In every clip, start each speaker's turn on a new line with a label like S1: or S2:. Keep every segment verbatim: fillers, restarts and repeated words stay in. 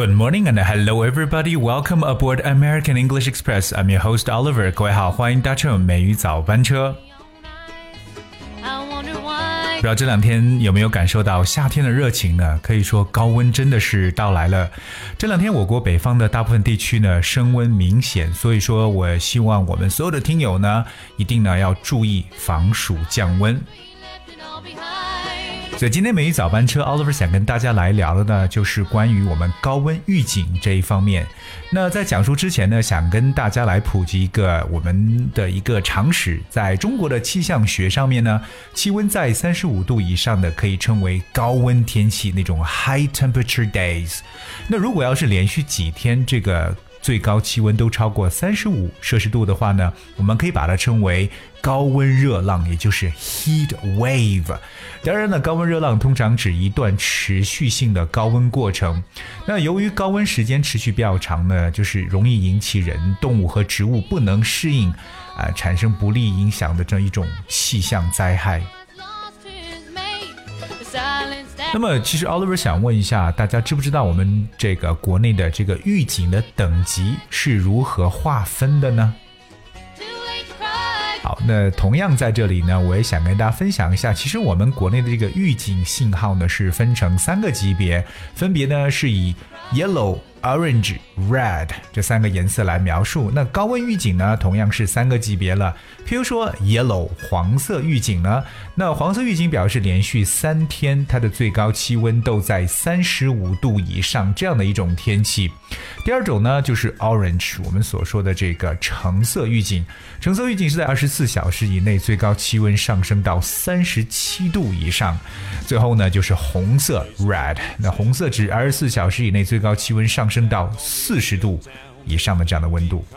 S1: Good morning and hello everybody. Welcome aboard American English Express. I'm your host Oliver. 各位好，欢迎搭乘美语早班车。不知道这两天有没有感受到夏天的热情呢？可以说高温真的是到来了。这两天我国北方的大部分地区呢升温明显，所以说我希望我们所有的听友呢一定呢要注意防暑降温。所以今天美语早班车 Oliver 想跟大家来聊的呢就是关于我们高温预警这一方面。那在讲述之前呢，想跟大家来普及一个我们的一个常识，在中国的气象学上面呢，气温在三十五度以上的可以称为高温天气，那种 high temperature days。 那如果要是连续几天这个最高气温都超过三十五摄氏度的话呢，我们可以把它称为高温热浪，也就是 heat wave。 当然呢，高温热浪通常指一段持续性的高温过程。那由于高温时间持续比较长呢，就是容易引起人、动物和植物不能适应、呃、产生不利影响的这一种气象灾害。那么其实 Oliver 想问一下大家，知不知道我们这个国内的这个预警的等级是如何划分的呢？好，那同样在这里呢，我也想跟大家分享一下，其实我们国内的这个预警信号呢是分成三个级别，分别呢是以 Yellow、Orange、Red 这三个颜色来描述。那高温预警呢同样是三个级别了，譬如说 Yellow 黄色预警呢，那黄色预警表示连续三天它的最高气温都在三十五度以上这样的一种天气。第二种呢就是 Orange， 我们所说的这个橙色预警，橙色预警是在二十四小时以内最高气温上升到三十七度以上。最后呢就是红色 Red， 那红色指二十四小时以内最高气温上升到四十度以上的这样的温度。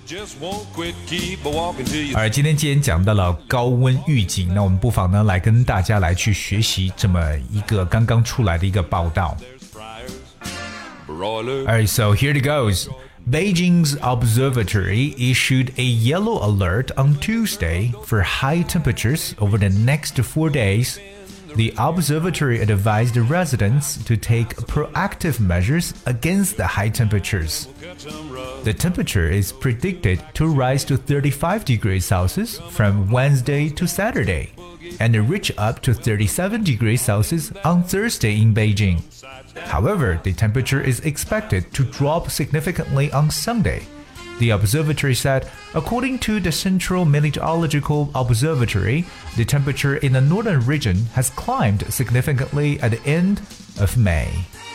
S1: 而今天既然讲到了高温预警，那我们不妨呢来跟大家来去学习这么一个刚刚出来的一个报道。Alright, so here it goes. Beijing's observatory issued a yellow alert on Tuesday for high temperatures over the next four days. The observatory advised residents to take proactive measures against the high temperatures. The temperature is predicted to rise to thirty-five degrees Celsius from Wednesday to Saturday, and reach up to thirty-seven degrees Celsius on Thursday in Beijing. However, the temperature is expected to drop significantly on Sunday. The observatory said, according to the Central Meteorological Observatory, the temperature in the northern region has climbed significantly at the end of May.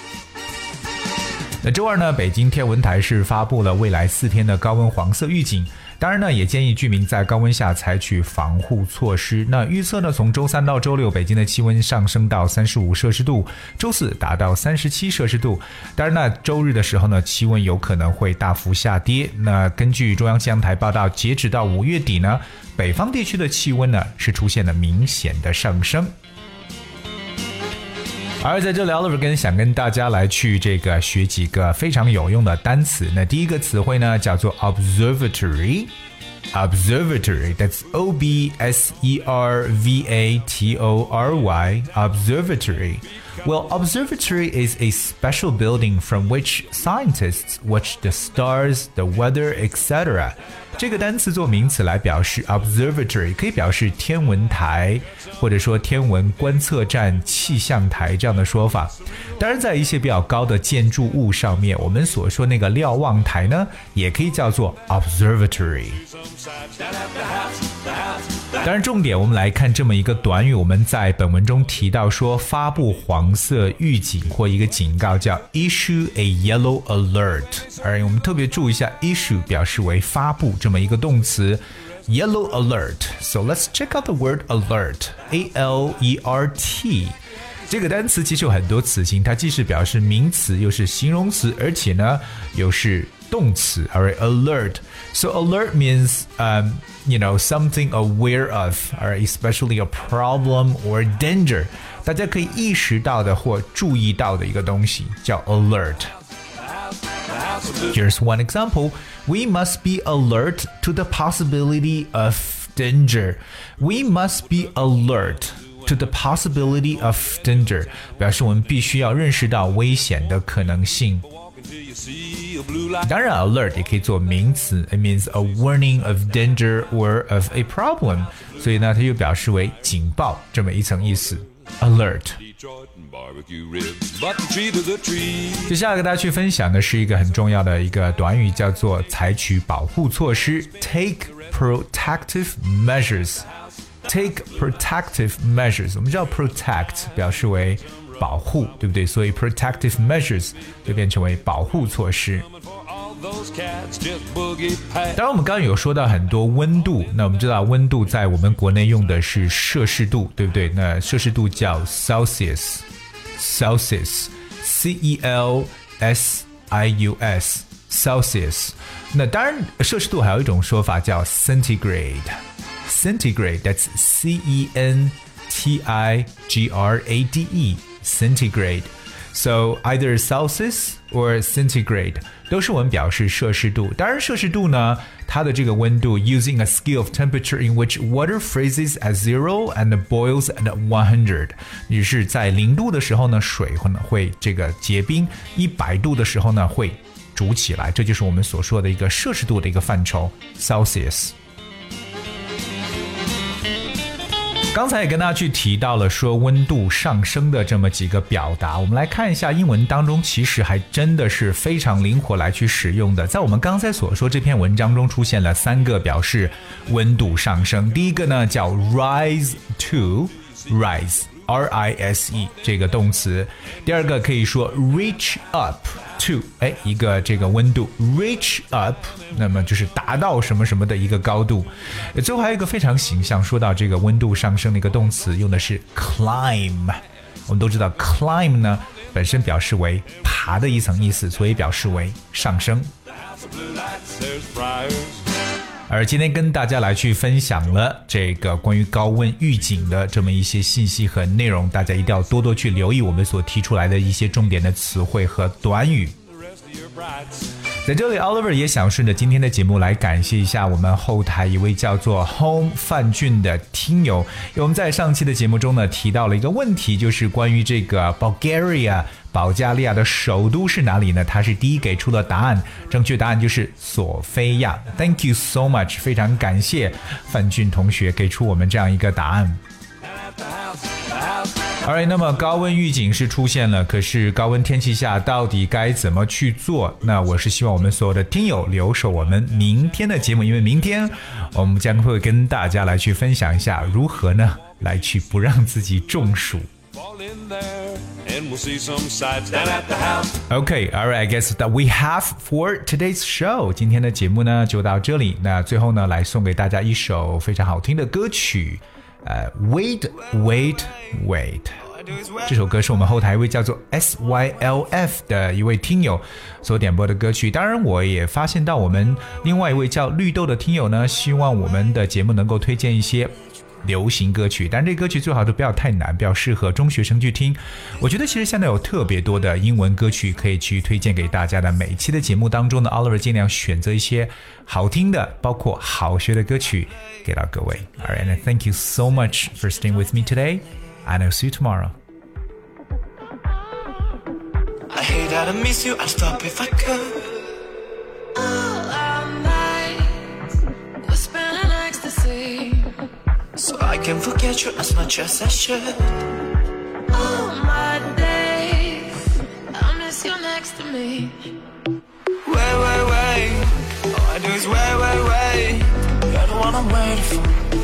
S1: 那周二呢，北京天文台是发布了未来四天的高温黄色预警。当然呢，也建议居民在高温下采取防护措施。那预测呢，从周三到周六，北京的气温上升到三十五摄氏度，周四达到三十七摄氏度。当然呢，周日的时候呢，气温有可能会大幅下跌。那根据中央气象台报道，截止到五月底呢，北方地区的气温呢是出现了明显的上升。而在这里 Oliver 跟想跟大家来去这个学几个非常有用的单词。那第一个词汇呢叫做 observatory。 Observatory, that's O B S E R V A T O R Y, observatory. Well, observatory is a special building from which scientists watch the stars, the weather, et cetera. 这个单词做名词来表示 observatory， 可以表示天文台，或者说天文观测站、气象台这样的说法。当然在一些比较高的建筑物上面，我们所说那个瞭望台呢也可以叫做 observatory。 当然重点我们来看这么一个短语，我们在本文中提到说发布黄色预警或一个警告叫 issue a yellow alert。 而我们特别注意一下 issue 表示为发布这么一个动词 yellow alert。 So let's check out the word alert, A L E R T。 这个单词其实有很多词性，它既是表示名词又是形容词，而且呢又是动词。 Alright, alert. So alert means um, you know, something aware of, alright, especially a problem or danger. 大家可以意识到的或注意到的一个东西叫 alert。 Here's one example. We must be alert to the possibility of danger. We must be alert to the possibility of danger. 表示我们必须要认识到危险的可能性。 当然 alert 也可以做名词 ，it means a warning of danger or of a problem， 所以呢它就表示为警报这么一层意思 alert。接下来跟大家去分享的是一个很重要的一个短语，叫做采取保护措施 take protective measures。Take protective measures， 我们知道 protect 表示为保护，对不对？所以 protective measures 就变成为保护措施。当然我们刚刚有说到很多温度，那我们知道温度在我们国内用的是摄氏度，对不对？那摄氏度叫 Celsius Celsius C E L S I U S Celsius。 那当然摄氏度还有一种说法叫 centigrade Centigrade, that's C E N T I G R A D E, centigrade. So either Celsius or centigrade 都是我们表示摄氏度。当然摄氏度呢，它的这个温度 using a scale of temperature in which water freezes at zero and boils at one hundred。于是在零度的时候呢，水可能会这个结冰；一百度的时候呢，会煮起来。这就是我们所说的一个摄氏度的一个范畴 ，Celsius。刚才也跟大家去提到了说温度上升的这么几个表达，我们来看一下英文当中其实还真的是非常灵活来去使用的。在我们刚才所说这篇文章中出现了三个表示温度上升，第一个呢叫 rise to rise R I S E 这个动词，第二个可以说 reach up to 哎一个这个温度 reach up 那么就是达到什么什么的一个高度。最后还有一个非常形象，说到这个温度上升的一个动词用的是 climb。 我们都知道 climb 呢本身表示为爬的一层意思，所以表示为上升。而今天跟大家来去分享了这个关于高温预警的这么一些信息和内容，大家一定要多多去留意我们所提出来的一些重点的词汇和短语。在这里 Oliver 也想顺着今天的节目来感谢一下我们后台一位叫做 Home 范俊的听友。因为我们在上期的节目中呢提到了一个问题，就是关于这个 Bulgaria 保加利亚的首都是哪里呢？他是第一给出的答案，正确答案就是索菲亚。 Thank you so much， 非常感谢范俊同学给出我们这样一个答案。Alright， 那么高温预警是出现了，可是高温天气下到底该怎么去做？那我是希望我们所有的听友留守我们明天的节目，因为明天我们将会跟大家来去分享一下如何呢来去不让自己中暑。Okay, alright, I guess that we have for today's show. 今天的节目呢就到这里。那最后呢来送给大家一首非常好听的歌曲。Uh, wait, wait, wait 这首歌是我们后台一位叫做 S Y L F 的一位听友所点播的歌曲。当然我也发现到我们另外一位叫绿豆的听友呢，希望我们的节目能够推荐一些流行歌曲，但这歌曲最好都不要太难，比较适合中学生去听。我觉得其实现在有特别多的英文歌曲可以去推荐给大家的，每一期的节目当中呢 Oliver 尽量选择一些好听的包括好学的歌曲给到各位。 Alright, and thank you so much for staying with me today, and I'll see you tomorrow.
S2: I hate how to miss you, I'd stop if I could. All our nights we're spending ecstasy, so I can forget you as much as I should. All my days I miss you next to me. Wait, wait, wait, all I do is wait, wait, wait. You're the one I'm waiting for.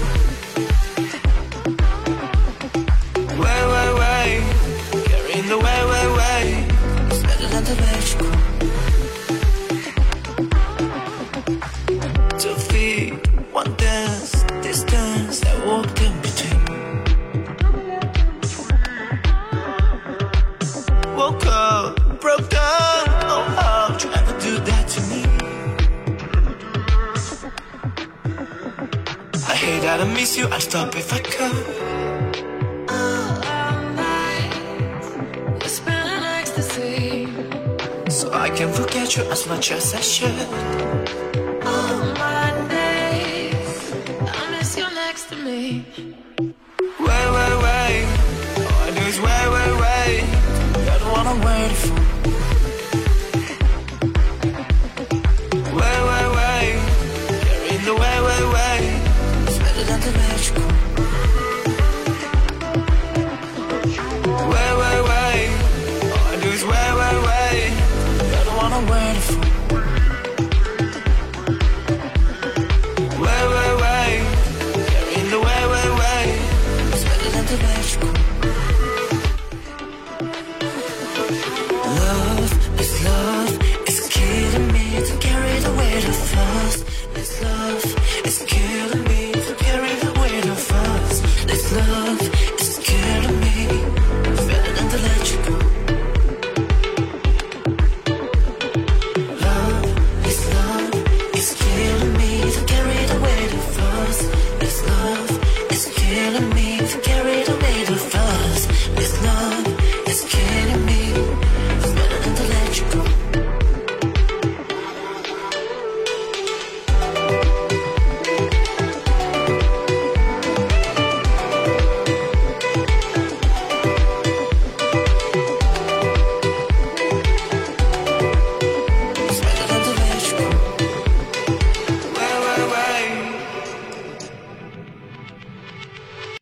S2: Wait, wait, wait, carrying the way, wait, wait. It's better than the way you go. Two feet, one dance, distance that walked in between. Woke up, broke down, oh how you ever do that to me? I hate how to miss you, I'd stop if I could. All our nights we're spending ecstasy, so I can forget you as much as I should. All my days I miss you next to me. Wait, wait, wait, all I do is wait, wait, wait. You're the one I'm waiting for.